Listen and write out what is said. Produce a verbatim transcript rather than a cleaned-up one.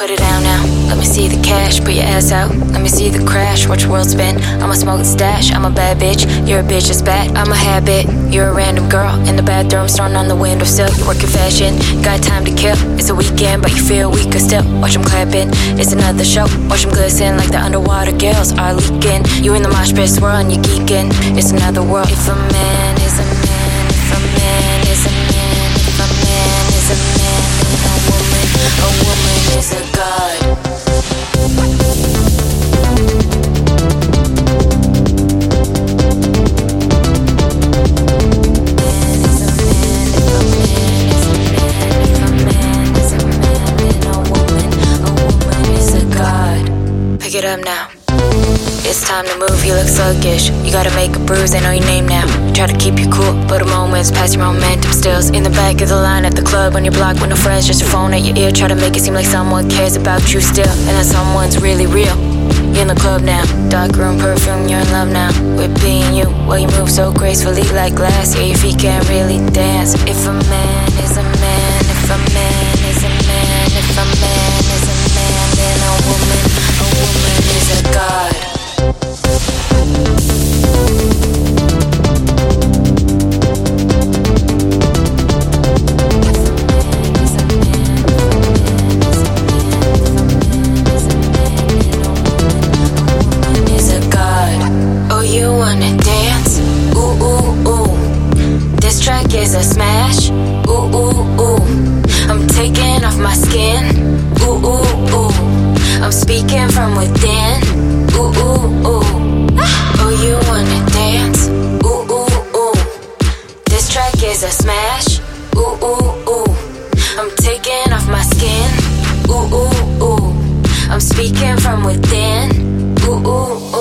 Put it down now, let me see the cash. Put your ass out, let me see the crash. Watch your world spin, I'ma smoke and stash. I'm a bad bitch, you're a bitch that's bad. I'm a habit, you're a random girl. In the bathroom, starting on the windowsill. You work in fashion, got time to kill. It's a weekend, but you feel weaker still. Watch them clapping, it's another show. Watch them glisten like the underwater gills are leaking. You in the mosh pit swirling, you geeking. It's another world. If a man is a man, if a man is a man, if a man is a man, then a woman, a woman is a god. Pick it up now. It's time to move, you look sluggish. You gotta make a bruise, they know your name now. Try to keep you cool, but a moment's past your momentum stills. In the back of the line at the club, on your block with no friends, just your phone at your ear. Try to make it seem like someone cares about you still, and that someone's really real. You're in the club now, dark room perfume, you're in love now with being you. Well, you move so gracefully like glass, yeah, your feet can't really dance. If a man is a man, if a man is a man, if a man is a man, then a woman, a woman is a god. Is a smash, ooh, ooh, ooh. I'm taking off my skin, ooh, ooh, ooh. I'm speaking from within, ooh, ooh, ooh. Oh, you wanna dance, ooh, ooh, ooh. This track is a smash, ooh, ooh, ooh. I'm taking off my skin, ooh, ooh, ooh. I'm speaking from within, ooh, ooh.